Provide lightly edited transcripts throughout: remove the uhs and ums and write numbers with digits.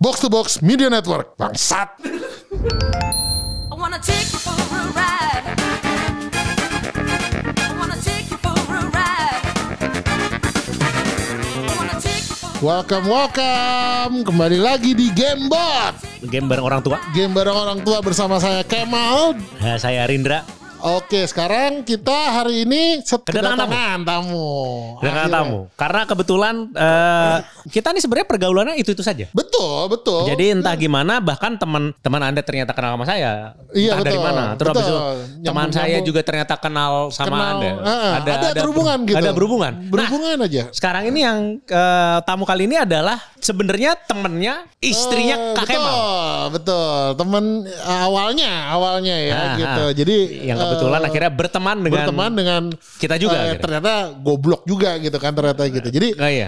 Box to Box Media Network. Bangsat. I wanna take you for a ride. I wanna take you for a ride. I wanna take you for Welcome. Kembali lagi di Gamebot. Game bareng orang tua. Game bareng orang tua bersama saya Kemal. Saya Rindra. Oke, sekarang kita hari ini kedatangan tamu. Kedatangan tamu. Karena kebetulan kita nih sebenarnya pergaulannya itu saja. Betul. Jadi entah gimana, bahkan teman Anda ternyata kenal sama saya. Iya, entah dari betul. mana. Terus habis itu teman saya Nyambung. juga ternyata kenal sama Anda. Ada berhubungan gitu. Ada berhubungan. Berhubungan aja. Sekarang ini yang tamu kali ini adalah sebenarnya temennya istrinya Kak Kemal. Betul. Temen awalnya ya gitu. Jadi yang kebetulan akhirnya berteman dengan kita juga. Ternyata goblok juga gitu kan ternyata gitu. Jadi iya.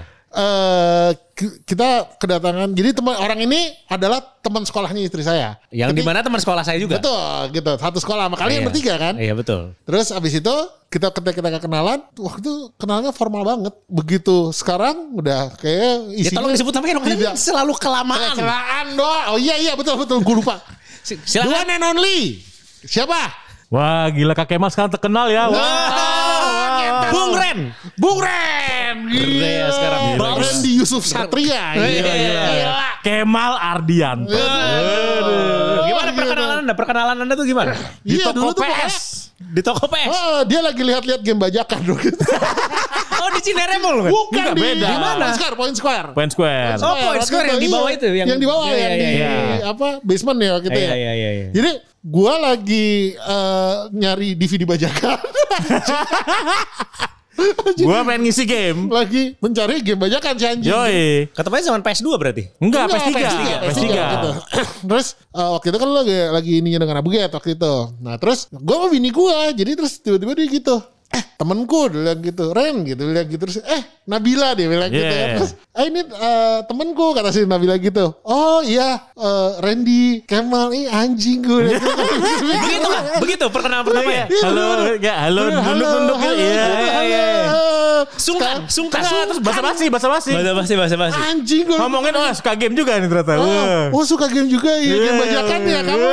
Kita kedatangan. Jadi teman orang ini adalah teman sekolahnya istri saya. Yang dimana teman sekolah saya juga. Betul gitu. Satu sekolah sama kalian bertiga kan. Iya betul. Terus abis itu kita kenalan. Waktu itu kenalnya formal banget. Begitu sekarang udah kayak isinya. Ya tolong disebut namanya dong. Karena selalu kelamaan. Kecelakaan doang. Oh iya betul. Gue lupa. The one and only. Siapa? Wah gila Kak Kemal sekarang terkenal ya. Bung Ren. Gila sekarang. Bang Randy Yusuf Satria. Gila. Kemal Ardianto. Gimana perkenalan Anda tuh gimana? Di Toko dulu tuh PS. Di toko PS. dia lagi lihat-lihat game bajakan dong. Oh di Cineremol kan? Bukan Enggak, di beda. Point Square. Point Square. Oh, Point Square yang di bawah itu, yang di bawah Iya, yang di iya. basement ya gitu ya. Iya. Jadi gua lagi nyari DVD bajakan. Gua pengen ngisi game. Lagi mencari game bajakan si anjing. Yoi. Ketepatnya zaman PS2 berarti? Enggak, PS3. gitu. Terus waktu itu kan lo lagi ininya dengan Abuget waktu itu. Nah terus gue sama bini gue. Jadi terus tiba-tiba dia gitu. Temenku dia bilang gitu. Ren gitu. Dia bilang gitu. Terus Nabila dia bilang gitu ya. Terus ini temenku kata si Nabila gitu. Oh iya Randy Kemal anjing gue. Begitu kan? Begitu perkenalan pertama ya? Halo, nunduk-nunduk. Iya. Sungkan. Terus basa-basi. Anjing gue. Ngomongin suka game juga nih ternyata. Oh suka game juga ya. Game bajakan ya kamu.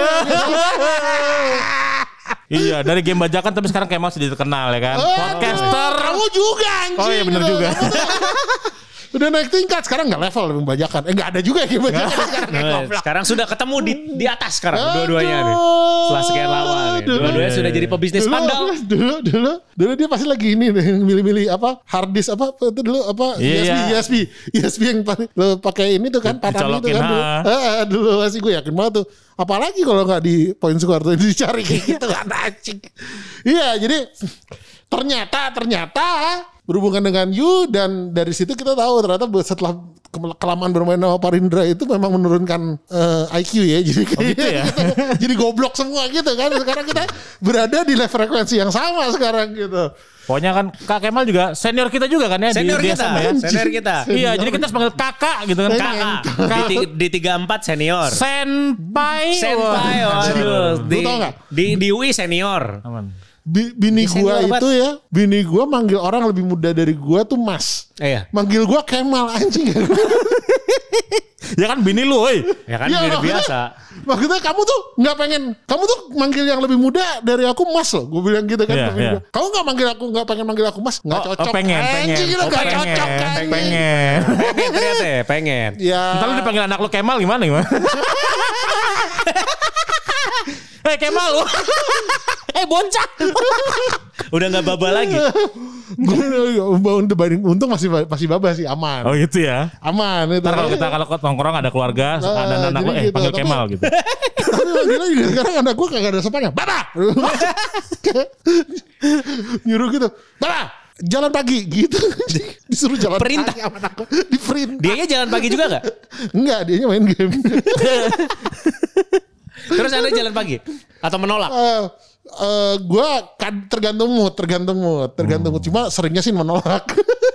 Iya, dari game bajakan tapi sekarang Kemal sudah terkenal ya kan. Podcaster. Kamu juga anjing. Oh iya benar juga. Udah naik tingkat. Sekarang gak level game bajakan. Gak ada juga game bajakan. Sekarang sudah ketemu di atas sekarang dua-duanya nih. Setelah sekian lama nih. Dua-duanya sudah jadi pebisnis pandal. Dulu dia pasti lagi ini nih milih-milih hard disk itu dulu USB yang lo pakai ini tuh kan patah itu kan dulu masih gue yakin banget tuh. Apalagi kalau nggak di Point Square tuh dicari kayak gitu kan anjing. Iya jadi ternyata berhubungan dengan you dan dari situ kita tahu ternyata setelah kelamaan bermain sama Parindra itu memang menurunkan IQ ya jadi gitu ya? Jadi goblok semua gitu kan. Sekarang kita berada di level frekuensi yang sama sekarang gitu. Pokoknya kan Kak Kemal juga senior kita juga kan ya Senior di kita SMA ya. Senior kita. Iya, jadi kita harus panggil kakak gitu kan. Kakak. Di 34 senior. Senpai. Waduh. Lu tau gak? Di UI senior. Aman. Bini gua itu ya, bini gua manggil orang lebih muda dari gua tuh Mas. Iya. Manggil gua Kemal anjing. Ya kan bini lu, woi. Ya kan bini biasa. Maksudnya kamu tuh manggil yang lebih muda dari aku Mas loh. Gue bilang gitu kan. Iya. Kamu nggak pengen manggil aku Mas? Nggak cocok. Pengen. Ternyata ya, pengen. Ya. Ntar lu dipanggil anak lu Kemal gimana? Kemal lu. Bocah. Udah gak baba lagi. Untung masih baba sih, aman. Oh gitu ya. Aman itu. Ntar kalau nongkrong ada keluarga, ada anak lu gitu, panggil Kemal gitu. Tapi manggilnya juga sekarang anak gue kagak ada sopannya. Baba! Nyuruh gitu. Baba! Jalan pagi gitu. Disuruh jalan Perintah. pagi sama anak gue. Diperintah. Dianya jalan pagi juga gak? Enggak, dianya main game. Terus Anda jalan pagi? Atau menolak? Gue kan tergantung mood. Cuma seringnya sih menolak.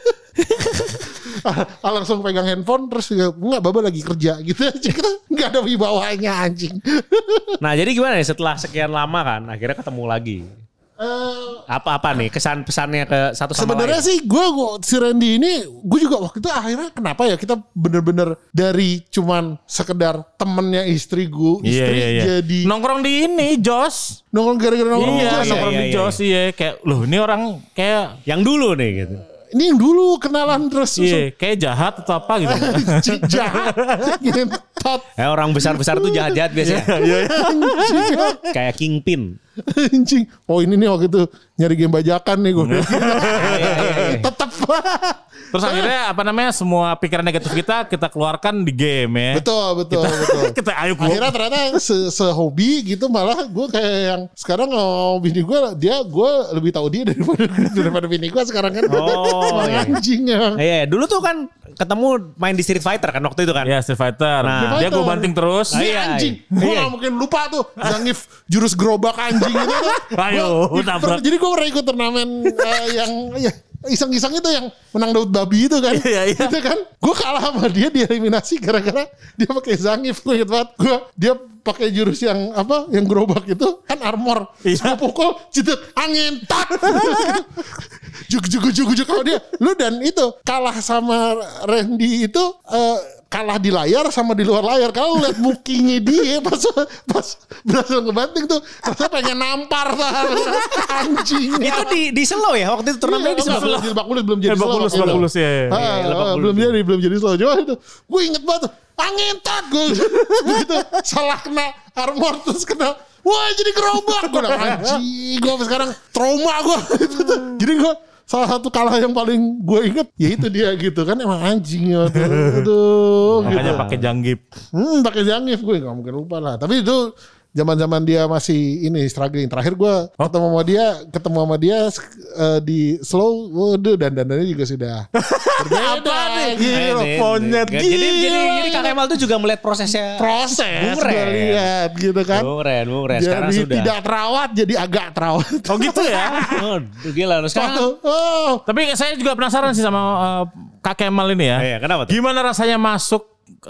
Langsung pegang handphone terus enggak baba lagi kerja gitu aja. Kita enggak ada wibawanya anjing. Nah jadi gimana ya setelah sekian lama kan akhirnya ketemu lagi. Apa nih kesan pesannya ke satu sama sebenarnya lain? sih gue si Randy ini gue juga waktu itu akhirnya kenapa ya kita bener-bener dari cuman sekedar temennya istri jadi nongkrong di ini Jos. nongkrong gara-gara nongkrong Iya, Jos ya? nongkrong di Jos iya kayak loh ini orang kayak Yang dulu nih gitu. Ini yang dulu kenalan terus iya, kayak jahat atau apa gitu. jahat ngentot Orang besar-besar tuh jahat-jahat biasanya. anjing Kayak Kingpin. anjing oh ini nih waktu itu nyari game bajakan nih gue tetap Terus akhirnya apa namanya semua pikiran negatif kita keluarkan di game ya. betul Kita ayo keluar. akhirnya ternyata sehobi gitu malah gue kayak yang sekarang bini gue gue lebih tahu dia daripada bini gue sekarang kan anjing ya. Iya, dulu tuh kan ketemu main di Street Fighter kan waktu itu kan. Ya Street Fighter. Nah. Dia gue banting terus. Iya, anjing gue gak mungkin lupa tuh Zangief jurus gerobak anjing itu tuh. Ayo tabrak. Jadi gue pernah ikut turnamen yang iseng-iseng itu yang menang Daud Babi itu kan. Iya. Itu kan gue kalah sama dia dieliminasi gara-gara dia pakai Zangief. Gue inget banget dia pakai jurus yang yang gerobak itu kan armor. Gue pukul cedet angin tak. Juk kalau dia lu dan itu kalah sama Randy itu kalah di layar sama di luar layar. Kalau lihat mukinya dia pas berhasil ngebanting tuh rasanya pengen nampar anjing. Itu di slow ya waktu itu turnamennya di slow. Di Lebak Bulus belum jadi slow. Lebak Bulus ya. Belum jadi slow. Coba itu gue inget banget angin tak gue begitu salah kena armor terus kena wah jadi gerobak gue udah anjing gue sekarang trauma gue jadi gue salah satu kalah yang paling gue inget ya itu dia gitu kan emang anjing ya aduh Makanya gitu. pakai Zangief. Pakai Zangief gue gak mungkin lupa lah tapi itu zaman-zaman dia masih ini struggling terakhir gue ketemu sama dia di slow waduh dandannya juga sudah berbeda gitu Monyet Jadi Kak Kemal tuh juga melihat prosesnya. gue lihat gitu kan Keren. Sekarang jadi sudah. tidak terawat jadi agak terawat Oh gitu ya. Gila lu sekarang. Tapi saya juga penasaran sih sama Kak Kemal ini ya. Iya, kenapa tuh? Gimana rasanya masuk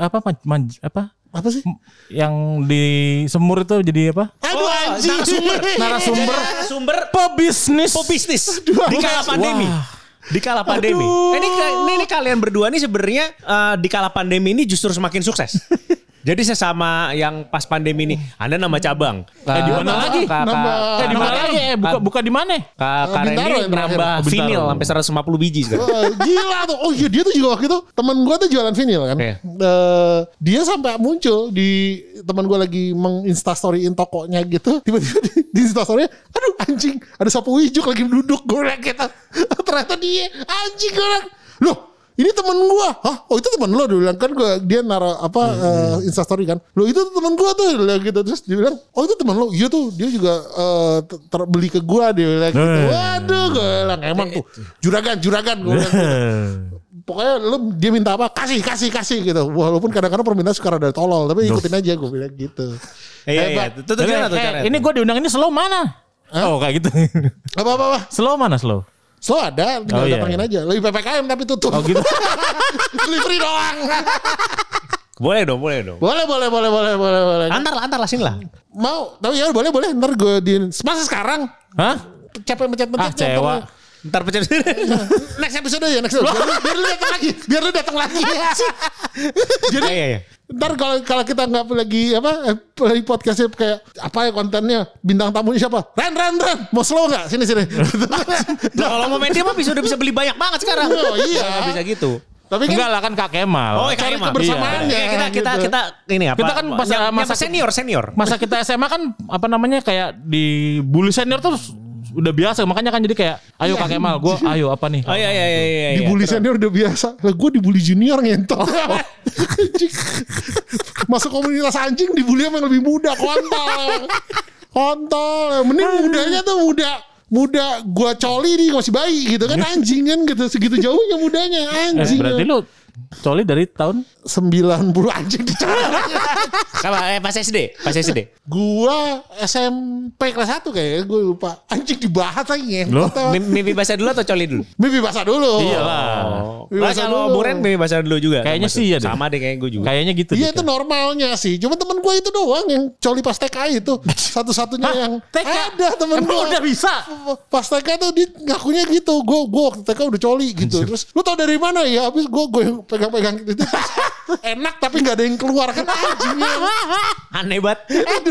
apa sih yang di semur itu jadi apa? aduh anjing Narasumber Pebisnis. di kala pandemi. Di kala pandemi. Ini kalian berdua nih sebenarnya di kala pandemi ini justru semakin sukses. Jadi sesama yang pas pandemi ini, Anda nambah cabang. Di mana lagi? Di mana lagi? Buka di mana? Kak Bintaro Randy yang nambah terakhir. vinil Bintaro. sampai 150 biji sekarang. gila tuh oh iya dia tuh juga waktu itu teman gue tuh jualan vinil kan Iya. dia sampai muncul di teman gue lagi menginstastoryin tokonya gitu tiba-tiba di instastorya aduh anjing ada sapu ijuk lagi duduk gue liat gitu ternyata dia anjing gue liat loh ini temen gue hah oh itu temen lo dia bilang kan dia naruh instastory kan lo itu temen gue tuh dia bilang gitu terus dia bilang oh itu temen lo iya tuh dia juga terbeli ke gue dia bilang gitu waduh gue bilang emang tuh juragan gue bilang gitu. Pokoknya dia minta apa kasih gitu walaupun kadang-kadang permintaan suka rada tolol tapi ikutin aja gue bilang gitu Iya. Itu gimana tuh caranya? Ini gue diundang ini slow mana? Oh kayak gitu. apa Slow mana slow? slow ada tinggal datangin aja lebih PPKM tapi tutup Oh gitu. delivery doang Boleh dong. boleh Antar lah sini lah. mau tapi ya boleh ntar gue di masa sekarang Hah? capek mencet Cewa. Ntar pecah. next episode ya biar lu datang lagi jadi Iya. ntar kalau kita nggak lagi lagi podcastnya kayak apa ya kontennya bintang tamunya siapa Ren mau slow nggak sini Kalau mau main dia mah udah bisa beli banyak banget sekarang. Oh, iya. Nggak bisa gitu. tapi kan Enggak lah kan Kak Kemal. Oh, cari Kemal. kebersamaannya Iya. Kita ini apa? Kita kan masa senior. Masa kita SMA kan apa namanya kayak di bully senior tuh udah biasa makanya kan jadi kayak ayo Kak Kemal gue ayo apa nih? Oh iya. dibully senior udah biasa lah gue dibully junior ngentot masuk komunitas anjing dibully sama yang lebih muda kontol mending mudanya tuh muda gue coli nih masih bayi gitu kan anjing kan gitu segitu jauhnya mudanya anjing Berarti lu Coli dari tahun 90 anjing dicari. Pas SD. Gua SMP kelas 1 kayaknya, gue lupa. Anjing dibahas lagi. Loh? Mimpi basah dulu atau coli dulu? Mimpi basah dulu. Iyalah. Mimpi Lah basah kalau dulu. Buren mimpi basah dulu juga. Kayaknya sih ya deh. Sama deh kayak gue juga. Kayaknya gitu. Iya deh. itu normalnya sih. Cuma temen gue itu doang yang coli pas TK itu. Satu-satunya Hah? yang TK? ada temen Emang gue. udah bisa? Pas TK tuh dia ngakunya gitu. Gue waktu TK udah coli gitu. Terus lu tau dari mana ya? Habis gue yang pegang-pegang gitu. Enak tapi gak ada yang keluar kan anjingnya. Aneh banget.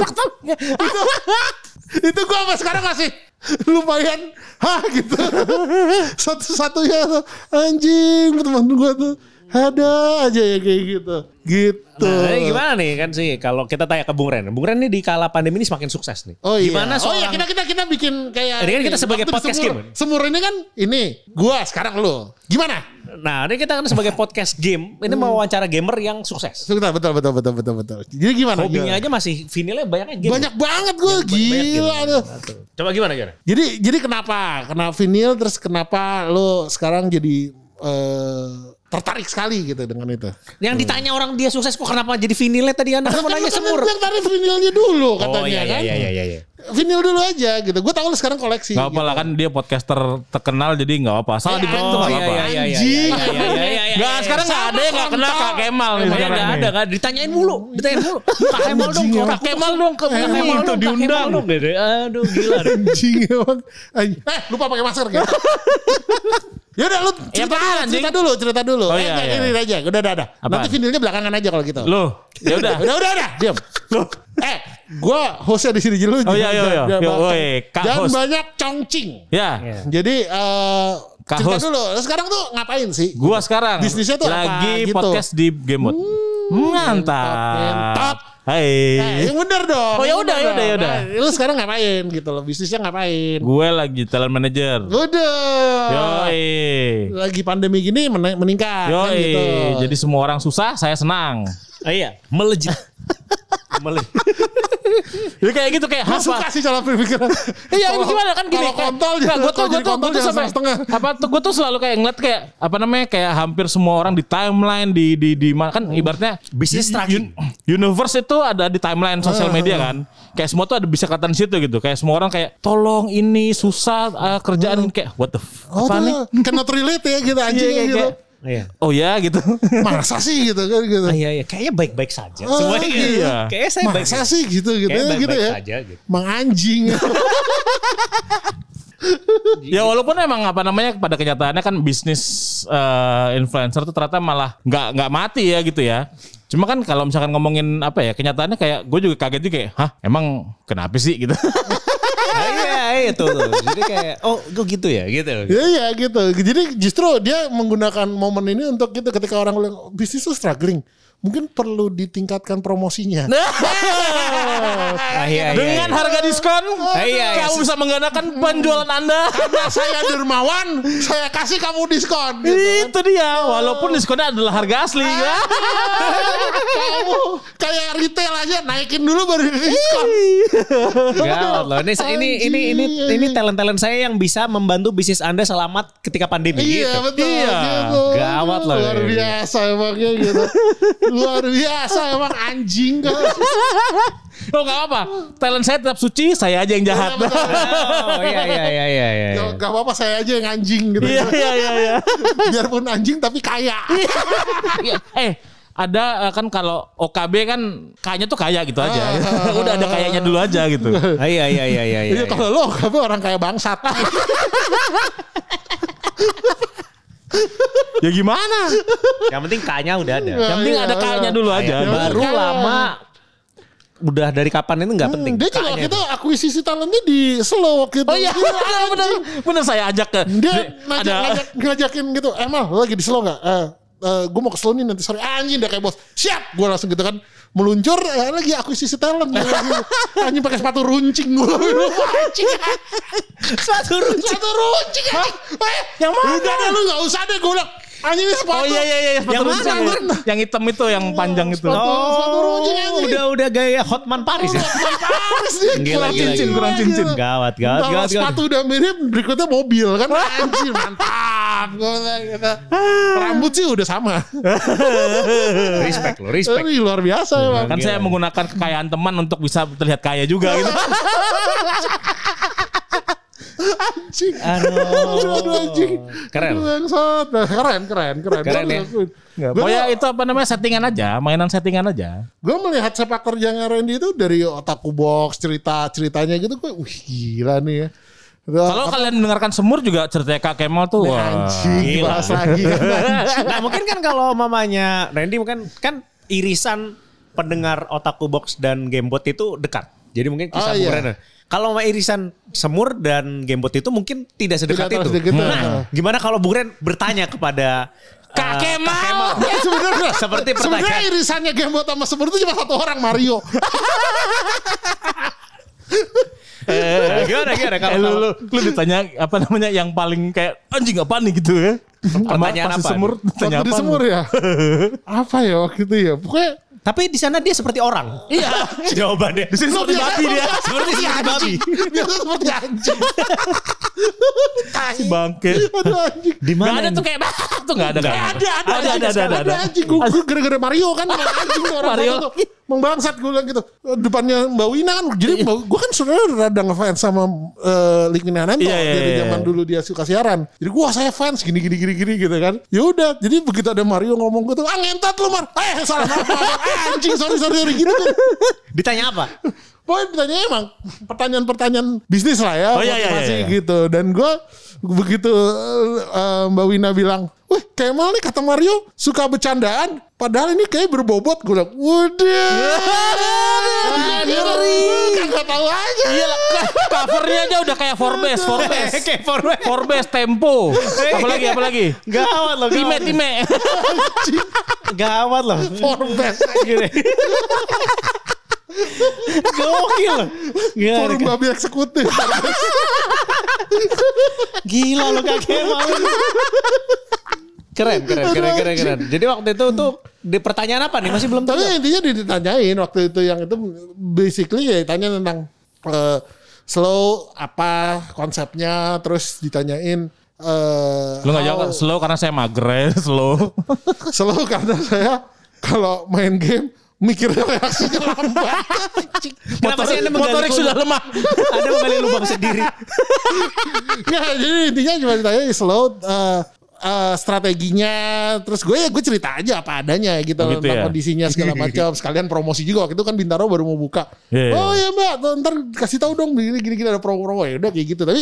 Itu gue sampai sekarang masih lumayan gitu. Satu-satunya tuh anjing teman gue tuh ada aja ya kayak gitu. Nah, ini gimana nih kan sih kalau kita tanya ke Bung Ren. Bung Ren nih di kala pandemi ini semakin sukses nih. Oh iya. Gimana Oh iya seorang kita bikin kayak ini kan kita sebagai waktu di podcast Semur. game. Semur ini kan ini gua sekarang lu. Gimana? Nah, ini kita kan sebagai podcast game, ini mau wawancara gamer yang sukses. Betul. Jadi gimana? Hobinya Gimana? aja masih vinilnya banyaknya game. Banyak banget gue Banyak gila game. tuh. Coba gimana? Jadi kenapa vinyl terus kenapa lo sekarang jadi tertarik sekali gitu dengan itu? Yang ditanya orang dia sukses kok kenapa jadi vinilnya tadi Anda kan mau nanya Semur. Yang tarik vinylnya dulu katanya kan. Iya. Vinyl dulu aja gitu. Gue tahu lo sekarang koleksi. Gak apa lah kan dia podcaster terkenal jadi gak apa. Salah di tuh gak apa. Anjing. Gak sekarang gak ada yang gak kenal Kak Kemal nih sekarang Gak nih. ada kan ditanyain mulu. Kak Kemal dong. Kak Kemal dong. Kak Kemal Itu dong. diundang. Aduh gila. Anjing emang. Lupa pakai masker gitu. Ya udah lu cerita dulu. Oh, iya. Ini aja. Udah. Apaan? Nanti vinilnya belakangan aja kalau gitu. Loh, ya udah. Udah. Diam. Gua hostnya di sini dulu. Oh iya. Kak Jangan host. banyak congcing. Ya, Jadi Kak cerita host. dulu. Sekarang tuh ngapain sih? gua sekarang Bisnisnya tuh apa lagi gitu? podcast di Game Mode. Mantap. Mantap. Hai. Yang bener dong. Oh, ya udah. Nah, lu sekarang ngapain gitu loh? Bisnisnya ngapain? Gue lagi talent manager. Udah. Yoi. Lagi pandemi gini meningkat kan Yoi. gitu. Jadi semua orang susah, saya senang. Iya, melejit. Jadi kayak gitu kayak Gue suka sih cara berpikiran. Iya gimana kan gini. Kalau kontol gue tuh sampai setengah. gue tuh selalu kayak ngeliat kayak apa namanya kayak hampir semua orang di timeline di mana kan ibaratnya Bisnis tracking. Universe itu ada di timeline sosial media kan. Kayak semua tuh ada bisa kelihatan situ gitu. Kayak semua orang kayak tolong ini susah kerjaan kayak what the apa nih? Cannot relate ya gitu anjing Iya, gitu. Iya. Oh ya gitu. Masa sih gitu kan gitu. Iya, kayaknya baik-baik saja. Oh, Semuanya gitu. iya. Kayaknya saya baik. Masa sih gitu Kayaknya gitu baik-baik ya. saja gitu. Mang anjing. Ya walaupun emang apa namanya pada kenyataannya kan bisnis influencer tuh ternyata malah nggak mati ya gitu ya. Cuma kan kalau misalkan ngomongin apa ya kenyataannya kayak gue juga kaget juga kayak hah emang kenapa sih gitu. Iya tuh. Jadi kayak gue gitu ya gitu. Iya gitu. Jadi justru dia menggunakan momen ini untuk gitu ketika orang bilang bisnis tuh struggling. Mungkin perlu ditingkatkan promosinya. Iya. Dengan harga diskon, Iya. kamu bisa menggunakan penjualan Anda. Karena saya dermawan, saya kasih kamu diskon. Gitu. Itu dia, walaupun diskonnya adalah harga asli. Kamu kayak retail aja naikin dulu baru diskon. Gawat loh. Ini talent saya yang bisa membantu bisnis Anda selamat ketika pandemi. Iya gitu. betul. Iya. Gitu. Gawat loh. Luar biasa emangnya gitu. Luar biasa emang anjing kan. Oh gak apa, talent saya tetap suci, saya aja yang jahat. Oh iya. Gak apa-apa saya aja yang anjing gitu. Iya. Biarpun anjing tapi kaya. Ada kan kalau OKB kan kayaknya tuh kaya gitu aja. Udah ada kayaknya dulu aja gitu. Iya. Iya kalau lo tapi orang kaya bangsat. Ya gimana? Yang penting K-nya udah ada. Yang penting ada kayaknya dulu aja. Baru lama. Udah dari kapan itu nggak penting. Dia juga K-nya kita akuisisi talentnya di Slow waktu itu. Oh iya, bener saya ajak ke. Dia ngajakin gitu. Mal lo lagi di Slow gak? Gue mau ke Slow nih nanti sore. Anjing udah kayak bos. Siap. Gue langsung gitu kan. Meluncur lagi akuisisi talent. Anjing pakai sepatu runcing gue. Sepatu runcing. Yang mana? Udah deh lu gak usah deh gue bilang. Anjing ini sepatu. Oh iya sepatu Yang runcing. mana? Yang hitam itu yang panjang itu. Sepatu runcing anjing. Udah gaya Hotman Paris ya. Paris dia. Kurang cincin. Gawat. Sepatu udah mirip berikutnya mobil kan. Anjir mantap. maaf. Gue bilang gitu. Rambut sih udah sama. Respect lo, respect. Tapi luar biasa emang. Kan saya menggunakan kekayaan teman untuk bisa terlihat kaya juga gitu. Anjing. Aduh, anjing. Keren. Keren ya. Pokoknya itu apa namanya settingan aja, mainan settingan aja. Gue melihat sepak terjangnya Randy itu dari Otaku Box ceritanya gitu, gue gila nih ya. Kalau kalian mendengarkan Semur juga ceritanya Kak Kemal tuh wah. Anjing, bahas lagi. Nah mungkin kan kalau mamanya Randy mungkin kan irisan pendengar Otaku Box dan Gamebot itu dekat. Jadi mungkin kisah Bung Ren. Kalau sama irisan Semur dan Gamebot itu mungkin tidak sedekat itu. Nah, gimana kalau Bung Ren bertanya kepada Kak Kemal. Ya sebenarnya seperti pertanyaan. Sebenarnya irisannya Gamebot sama Semur itu cuma satu orang, Mario. Gimana kalau lu ditanya apa namanya yang paling kayak anjing apa nih gitu ya? Pertanyaan apa? Semur ditanya Waktu di apa? Semur ya? Apa ya waktu itu ya? Pokoknya tapi di sana dia seperti orang. Iya. Jawabannya. Di sini seperti babi dia. Seperti babi. dia seperti anjing. Si bangke. Aduh anjing. Di Gak mana ada tuh kayak tuh gak ada. Ada anjing. Gue gara-gara Mario kan. Anjing orang Mario. tuh. Membangsat gue bilang gitu. Depannya Mbak Wina kan. Jadi gue kan sebenarnya rada ngefans sama Lik Minananto. Dari zaman dulu dia suka siaran. Jadi gue saya fans gini gitu kan. Ya udah. Jadi begitu ada Mario ngomong gitu. Ngentot lu Mar. Salah anjing sorry gitu kan. Ditanya apa? Pokoknya ditanya emang pertanyaan bisnis lah ya. Motivasi gitu. Dan gue begitu Mbak Wina bilang, wih Kemal nih kata Mario suka bercandaan. Padahal ini kayak berbobot. Gue bilang, waduh. Kagak tahu aja. Iya lah, covernya aja udah kayak Forbes. Kayak Forbes Tempo. Apalagi? Gawat loh. Time. Gawat loh. Forbes. Gokil. Forum babi eksekutif. Gila lo Kak Kemal. Keren. Jadi waktu itu tuh di pertanyaan apa nih? Masih belum tahu. Tapi intinya ditanyain waktu itu yang itu basically ya ditanya tentang slow apa konsepnya, terus ditanyain Lu gak jawab slow karena saya mager slow. Slow karena saya kalau main game mikirnya reaksinya lambat. Kenapa sih Anda motorik sudah lemah? Anda menggali lubang sendiri. Nggak, jadi intinya cuma ditanya slow strateginya, terus gue cerita aja apa adanya gitu tentang kondisinya segala macam, sekalian promosi juga waktu itu kan Bintaro baru mau buka. Oh ya Mbak, ntar kasih tahu dong gini ada promo ya udah kayak gitu. Tapi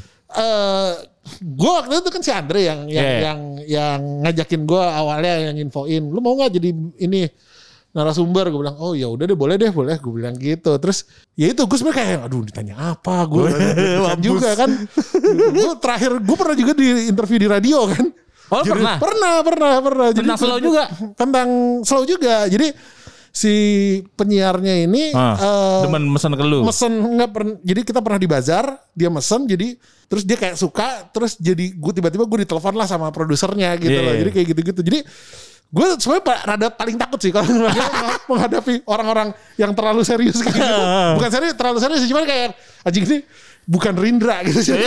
gue waktu itu kan si Andre yang ngajakin gue awalnya, yang infoin lu mau nggak jadi ini narasumber. Gue bilang oh ya udah deh boleh gue bilang gitu. Terus ya itu gue sebenarnya kayak aduh ditanya apa gue juga kan. Gue terakhir gue pernah juga di interview di radio kan. Oh jadi, pernah tentang slow juga. Tentang slow juga. Jadi si penyiarnya ini demen mesen ke lu. Jadi kita pernah di bazar, dia mesen, jadi terus dia kayak suka, terus jadi gue tiba-tiba gue ditelepon lah sama produsernya gitu loh. Jadi kayak gitu-gitu. Jadi gue sebenarnya rada paling takut sih kalau menghadapi orang-orang yang terlalu serius kayak gitu. Bukan serius, terlalu serius sih, cuman kayak anjing ini bukan Rindra gitu sih.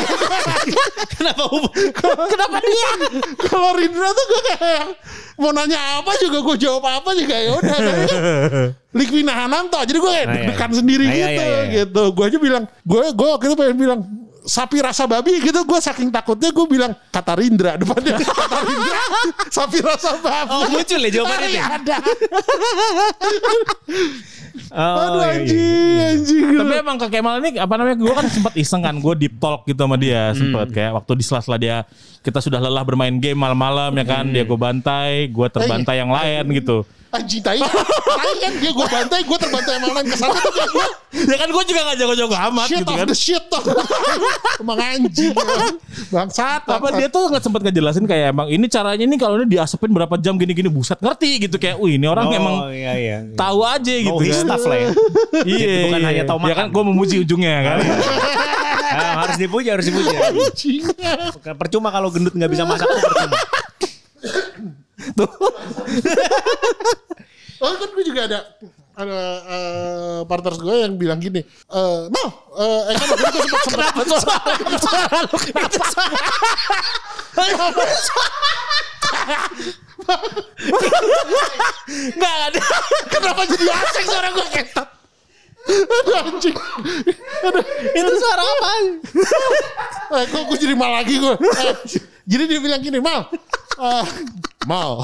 Kenapa dia? Kalau Rindra tuh gue kayak mau nanya apa juga gue jawab apa juga ya udah. Lik Minananto, jadi gue kayak deg-degan sendiri gitu. Gue aja bilang, gue waktu itu pengen bilang sapi rasa babi gitu, gue saking takutnya gue bilang kata Rindra depannya. Kata Rindra sapi rasa babi. Oh muncul ya jawabannya. Ada. Aduh anjing. Tapi emang Kak Kemal ini apa namanya, gue kan sempat iseng kan, gue deep talk gitu sama dia sempat kayak waktu di sela-sela dia kita sudah lelah bermain game malam-malam ya kan, dia gue bantai, gue terbantai yang lain gitu. Anjing tai kan dia gue bantai, gue terbantai yang lain kesana tuh gue. Ya kan gue juga gak jago-jago amat Shit gitu kan. Shit of the shit tuh. Emang anjing. Bangsat. Apa dia tuh nggak sempat ngejelasin kayak emang ini caranya nih kalau ini diasapin berapa jam gini-gini, buset ngerti gitu kayak, wih ini orang emang tahu aja gitu kan. Staff lah ya. Iya. Bukan hanya tahu makan. Ya kan gue memuji ujungnya kan. Harus dipuji. Bukan percuma kalau gendut nggak bisa masak tuh percuma. Tuh. Oh kan gue juga ada partners gue yang bilang gini, kan waktu itu sempat Enggak ada. Kenapa jadi asing suara gue ketat? Aduh anjing. Itu suara apa? Kok gue jadi mal lagi gue. Jadi dia bilang gini, Mal. Mal.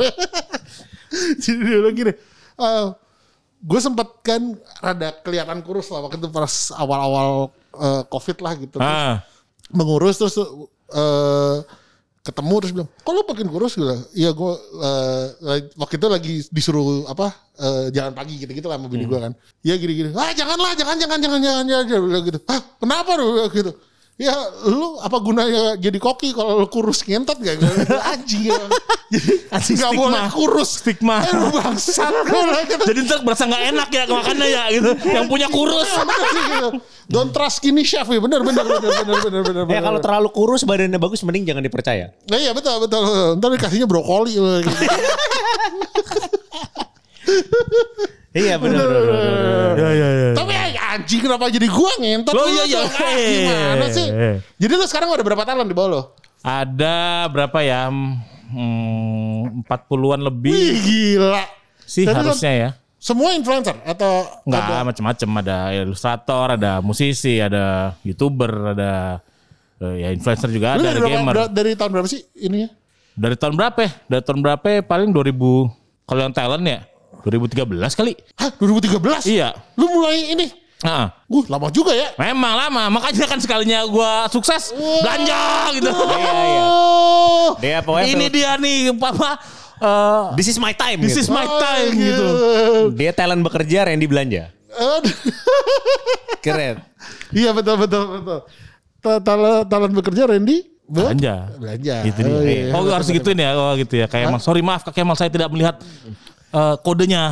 Jadi dia bilang gini. Gue sempet kan rada kelihatan kurus lah waktu itu pas awal-awal COVID lah gitu. Mengurus terus ketemu terus bilang, kok lu makin kurus gitu? Iya gue waktu itu lagi disuruh jalan pagi gitu-gitu lah sama bini gue kan. Iya gini-gini. Jangan bilang gitu. Kenapa lu gitu? Ya lu apa gunanya jadi koki kalau lu kurus ngentot gak? Anjing ya. Jadi gak boleh kurus. Stigma. Bangsat. Jadi ntar berasa gak enak ya makannya ya gitu. Yang punya kurus. Don't trust skinny chef ya. Bener. Ya kalau terlalu kurus badannya bagus mending jangan dipercaya. Nah, iya betul. Ntar dikasihnya brokoli. Iya benar. Ya. Tapi anjing kenapa jadi gua ngentot? Loh iya. Gimana sih? Jadi lu sekarang ada berapa talent di bawah lo? Ada berapa ya? 40-an lebih. Wih, gila. Sih Tapi harusnya ya. Semua influencer atau Enggak macam-macam, ada ilustrator, ada musisi, ada YouTuber, ada ya influencer juga ada gamer. Dari tahun berapa sih ininya? Dari tahun berapa ya? Dari tahun berapa ya? Paling 2000 kalau yang talent ya 2013 kali. Hah, 2013? Iya. Lu mulai ini? Lama juga ya? Memang lama. Makanya kan sekalinya gua sukses belanja gitu. Iya. Dia pokoknya Ini dia nih Papa. This is my time. This is my time gitu. Dia talent bekerja, Randy belanja. Keren. Iya betul. Talent bekerja Randy? Belanja. Gitu dia. Iya, harus gituin ya. Gitu ya. Kayak sorry maaf Kak Kemal saya tidak melihat kodenya.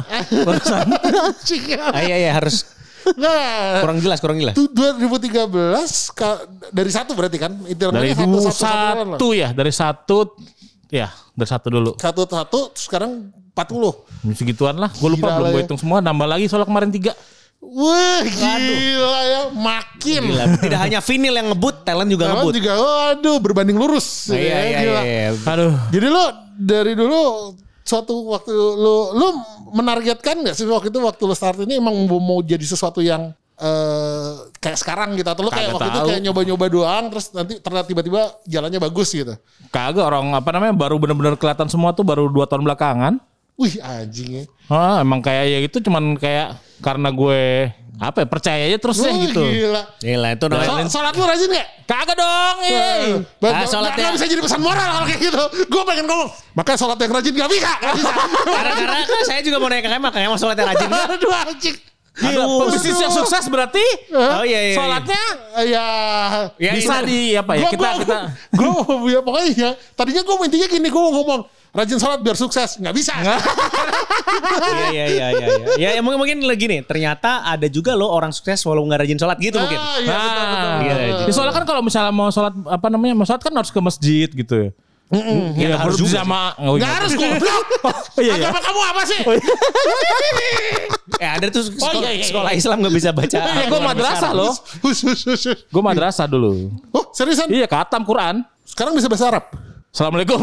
Iya harus kurang jelas. 2013 dari satu berarti kan? Dari satu ya. Dari satu dulu. Satu sekarang 40. Segituan lah. Gue lupa belum gue hitung semua. Nambah lagi soalnya kemarin 3. Wah gila ya. Makin. Gila. Tidak hanya vinil yang ngebut, talent juga ngebut. Waduh berbanding lurus. Iya. Aduh. Jadi lo dari dulu suatu waktu lo menargetkan gak sih waktu itu waktu lo start ini emang mau jadi sesuatu yang kayak sekarang gitu, atau lo kayak waktu itu kayak nyoba-nyoba doang terus nanti ternyata tiba-tiba jalannya bagus gitu? Kagak, orang baru bener-bener kelihatan semua tuh baru 2 tahun belakangan. Wih anjing ya. Emang kayak ya gitu, cuman kayak karena gue percaya aja terus gitu. Gila itu namanya. Sholat lu rajin gak? Kagak dong. Sholatnya bisa jadi pesan moral kalau kayak gitu. Gue pengen ngomong, makanya sholat yang rajin gak bisa. Karena saya juga mau nanya ke Kemal sholat yang rajin gak? Aduh anjing. Pebisnis yang sukses berarti iya. sholatnya ya bisa kita gue pokoknya tadinya gue intinya gini, gue ngomong rajin sholat biar sukses, nggak bisa. Iya. Ya mungkin lagi nih. Ternyata ada juga loh orang sukses walau nggak rajin sholat gitu mungkin. Iya, betul. Soalnya kan kalau misalnya mau sholat mau sholat kan harus ke masjid gitu. Ya harus juga sama nggak harus goblok. Agama kamu apa sih? Ada tuh sekolah Islam nggak bisa baca. Gue madrasah loh. Gue madrasah dulu. Oh seriusan? Iya, khatam Quran. Sekarang bisa bahasa Arab. Assalamualaikum.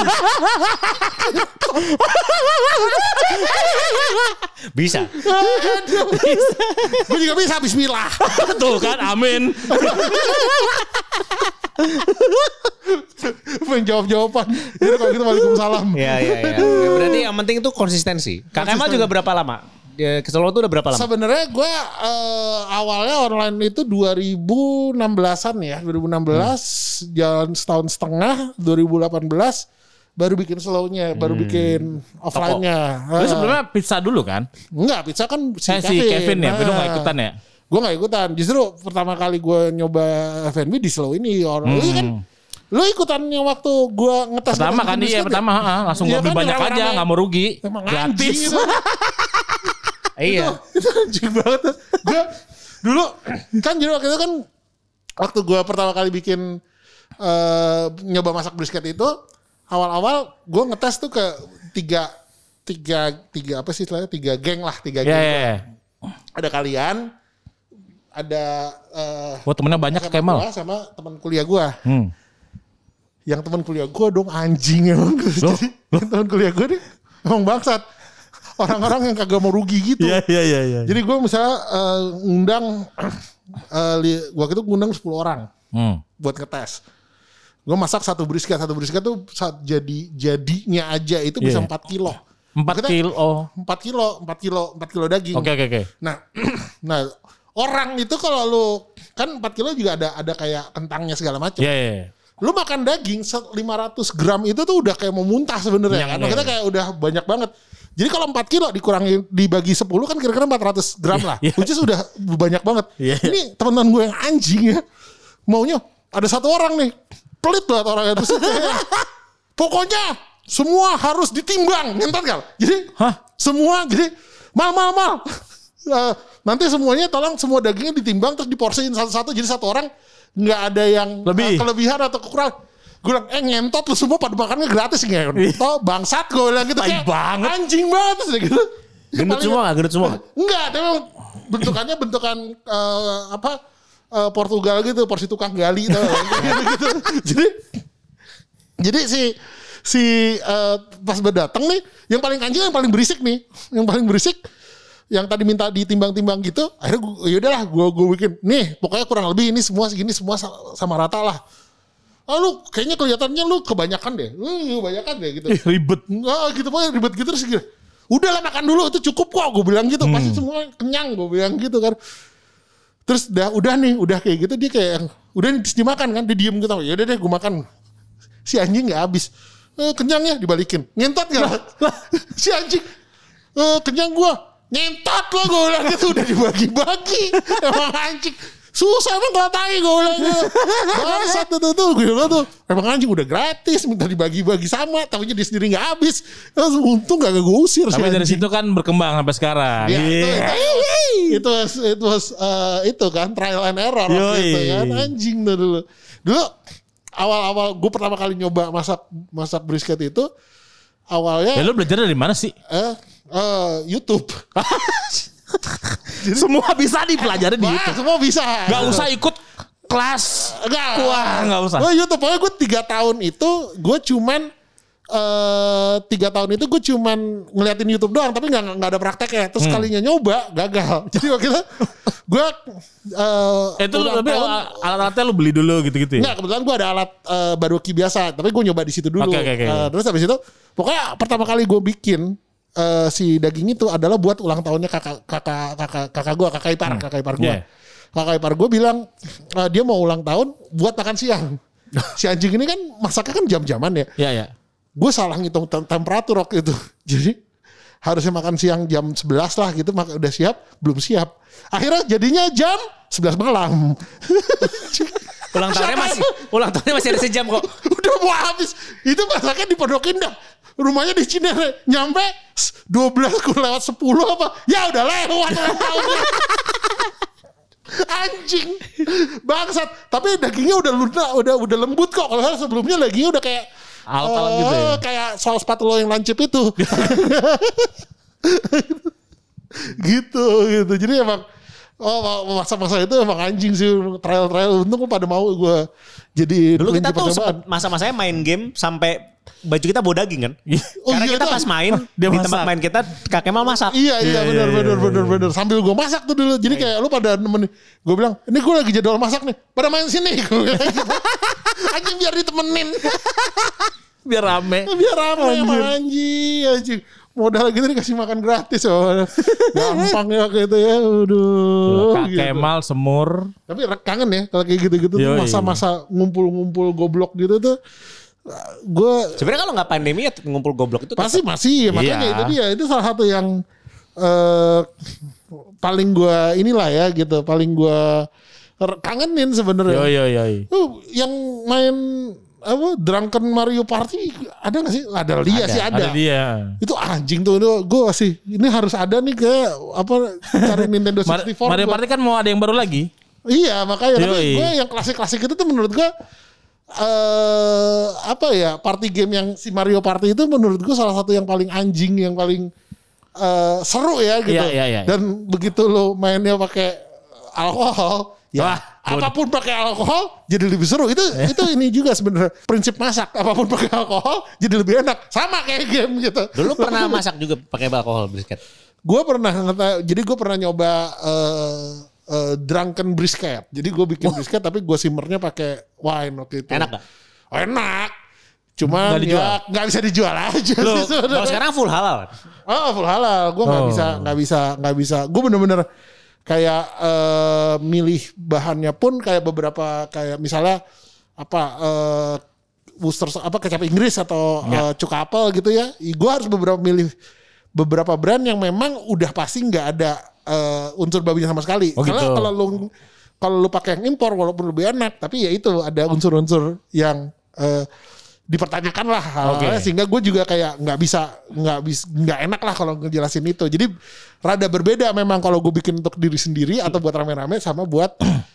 Bisa. Gue juga bisa. Bismillah. Tuh kan, amin. Menjawab-jawaban. Jadi kalau gitu waalaikumsalam. Iya. Berarti yang penting itu konsistensi. Kak Kemal juga berapa lama? Ke Solo itu udah berapa lama? Sebenarnya gue awalnya online itu 2016-an ya. 2016 jalan setahun setengah. 2018 baru bikin slow-nya, baru bikin offline-nya. Lu sebelumnya pizza dulu kan? Enggak, pizza kan si Kevin ya. Lu gak ikutan ya? Gue gak ikutan. Justru pertama kali gue nyoba F&B di slow ini. Lu kan lu ikutan yang waktu gue ngetes. Pertama kan pertama. Langsung gue beli banyak aja, gak mau rugi. Emang gratis. Gitu. Iya. Itu anjing banget. Gue dulu kan jadi waktu itu kan waktu gue pertama kali bikin nyoba masak brisket itu, awal-awal gue ngetes tuh ke tiga apa sih istilahnya, 3 geng lah, 3 geng. Yeah. Ada kalian, ada temennya banyak Kemal sama teman kuliah gue. yang teman kuliah gue dong anjing emang. Jadi yang teman kuliah gue nih emang bangsat. Orang-orang yang kagak mau rugi gitu. Iya. Jadi gue misalnya ngundang waktu itu ngundang 10 orang buat ngetes. Gue masak satu brisket tuh jadinya aja itu bisa 4 kilo. 4 kilo. 4 kilo daging. Oke. Nah orang itu kalau lu kan 4 kilo juga ada kayak kentangnya segala macam. Iya. Lu makan daging 500 gram itu tuh udah kayak mau muntah sebenarnya kan. Kita kayak udah banyak banget. Jadi kalau 4 kilo dikurangi dibagi 10 kan kira-kira 400 gram lah. Which is udah banyak banget. Ini teman-teman gue yang anjing ya. Maunya ada satu orang nih. Pelit banget orangnya. Terus pokoknya semua harus ditimbang. Ngentot gak? Jadi semua jadi mal. Nanti semuanya tolong semua dagingnya ditimbang terus diporsiin satu-satu. Jadi satu orang nggak ada yang kelebihan atau kekurangan. Gue bilang, ngentot lu semua pada makannya gratis ngentot. Bangsat gue bilang gitu. Kayak banget. Anjing banget terus gitu. Gendut semua? Enggak, tapi bentukannya bentukan Portugal gitu, porsi tukang gali gitu. Jadi si pas berdatang nih, yang paling anjing yang paling berisik nih. Yang paling berisik yang tadi minta ditimbang-timbang gitu, akhirnya yaudahlah gue bikin nih pokoknya kurang lebih ini semua segini semua sama rata lah. Lu kayaknya kelihatannya lu kebanyakan deh gitu. Ribet. Gitu pokoknya ribet gitu terus gitu. Udahlah makan dulu itu cukup kok gue bilang gitu. Pasti semua kenyang gue bilang gitu kan. Terus udah kayak gitu dia kayak udah dimakan kan dia diem gitu. Ya udah deh gue makan. Si anjing nggak habis. Kenyang ya dibalikin. Ngentot gak? Si anjing kenyang gue. Ngentot lo gue bilang gitu udah dibagi-bagi. Emang anjing. Susah emang kalau tai gue bilang gitu. Bangsat tuh gue bilang tuh. Emang anjing udah gratis minta dibagi-bagi sama. Tapi dia sendiri gak habis. Untung gak gue usir. Tapi dari situ kan berkembang sampai sekarang. Itu kan trial and error gitu kan. Anjing dulu. Dulu awal-awal gue pertama kali nyoba masak brisket itu. Awalnya. Ya lu belajar dari mana sih? YouTube. Semua bisa dipelajari di YouTube. Semua bisa. Gak usah ikut kelas. Gak usah. YouTube. Pokoknya gue 3 tahun itu gue cuman 3 tahun itu gue cuman ngeliatin YouTube doang. Tapi gak ada prakteknya. Terus kalinya nyoba gagal. Jadi waktu itu gue itu lebih alat-alatnya lu beli dulu gitu-gitu ya? Enggak, kebetulan gue ada alat barbecue biasa. Tapi gue nyoba di situ dulu. Terus habis itu pokoknya pertama kali gue bikin si daging itu adalah buat ulang tahunnya kakak gue, kakak ipar gue. Kakak ipar gue bilang dia mau ulang tahun buat makan siang. Si anjing ini kan masaknya kan jam-jaman ya. Iya. Gue salah ngitung temperatur waktu itu. Jadi harusnya makan siang jam 11 lah gitu, udah siap, belum siap. Akhirnya jadinya jam 11 malam. Ulang tahunnya masih ada sejam kok. Udah mau habis. Itu masaknya di Pondok Indah. Rumahnya di Cinere. Nyampe 12 lewat 10 apa. Ya udah lewat ulang tahunnya. Anjing. Bangsat. Tapi dagingnya udah lunak, udah lembut kok. Kalau sebelumnya dagingnya udah kayak alat-alat gitu ya. Kayak soal sepatu lo yang lancip itu. gitu. Jadi emang masa-masa itu emang anjing sih, trial. Untung pada mau gue jadi. Dulu kita tuh sempat masa-masanya main game sampai baju kita bau daging kan. Karena kita pas main di tempat main kita Kak Kemal masak. Iya benar. Sambil gue masak tuh dulu. Jadi kayak lu pada nemenin. Gue bilang, ini gue lagi jadwal masak nih. Pada main sini. Anjing biar ditemenin. Biar rame emang anjing. Modal gitu dikasih makan gratis. Gampang ya gitu ya. Aduh. Kak gitu. Kemal semur. Tapi kangen ya kalau kayak gitu-gitu. Masa-masa ngumpul-ngumpul goblok gitu tuh. Gue sebenarnya kalau nggak pandemi ya ngumpul goblok itu pasti masih. Makanya itu dia. Itu salah satu yang paling gue inilah ya gitu. Paling gue kangenin sebenarnya. Yang main Drunken Mario Party ada gak sih? Ada dia. Itu anjing tuh. Gue masih ini harus ada nih kayak cari Nintendo 64. Mario Party kan mau ada yang baru lagi. Iya makanya. Tapi gue yang klasik-klasik itu tuh menurut gue party game yang si Mario Party itu menurut gue salah satu yang paling anjing, yang paling seru ya gitu. Iya. Dan begitu lo mainnya pakai alkohol, Ya, apapun pakai alkohol jadi lebih seru. Itu ini juga sebenarnya prinsip masak. Apapun pakai alkohol jadi lebih enak. Sama kayak game gitu. Dulu pernah masak juga pakai alkohol brisket? Gue pernah nyoba drunken brisket. Jadi gue bikin brisket tapi gue simmernya pakai wine waktu itu. Enak gak? Enak. Cuman nggak bisa dijual aja. Loh, kalau sekarang full halal. Oh, full halal. Gue nggak bisa. Gue bener-bener kayak milih bahannya pun kayak beberapa kayak misalnya Worcester kecap Inggris atau cuka apel gitu ya. Gue harus milih beberapa brand yang memang udah pasti nggak ada unsur babinya sama sekali. Karena gitu. Kalau lu pakai yang impor walaupun lebih enak, tapi ya itu ada unsur-unsur yang dipertanyakan lah, sehingga gue juga kayak nggak enak lah kalau ngejelasin itu. Jadi rada berbeda memang kalau gue bikin untuk diri sendiri atau buat rame-rame sama buat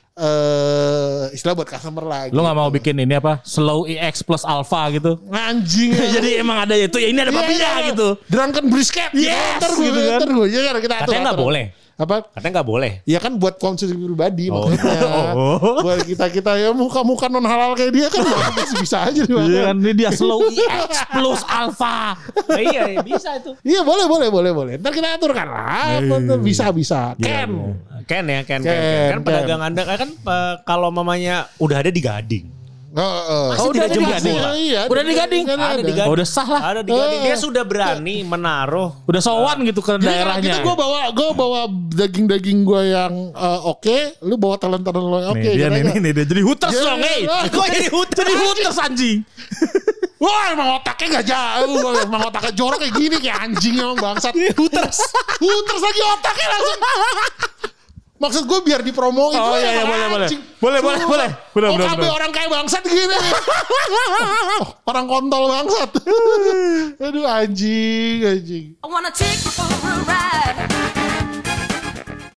istilah buat customer lah. Lo nggak mau bikin ini slow EX plus alpha gitu? Anjing. Jadi emang ada itu ya, ini ada babinya gitu. Drunken brisket. Yes, gitu kan. Katanya nggak boleh. Katanya nggak boleh. Ya kan buat konsumsi pribadi maksudnya. Buat kita ya muka non halal kayak dia kan masih bisa aja. Iya kan ini dia slow EX plus alpha. Iya bisa itu. Iya boleh. Ntar kita aturkan lah. Bisa. Ken ya. Kan pedagang Anda kan kalau mamanya udah ada di Gading. Udah di Gading. Udah di Gading. Udah sah lah. Ada di Gading. Dia sudah berani menaruh. Udah sowan gitu ke daerahnya. Gue bawa daging gue yang oke. Lu bawa talent lo yang oke. Dia dia jadi hooters dong. Gue jadi hooters anjing. Wah emang otaknya gak jauh. Emang otaknya jorok kayak gini. Kayak anjing emang bangsat. Hooters lagi otaknya langsung. Maksud gue biar dipromoin. Oh iya boleh. OKB orang kayak bangsat gini. Orang kontol bangsat. Aduh anjing. I wanna take you for a ride.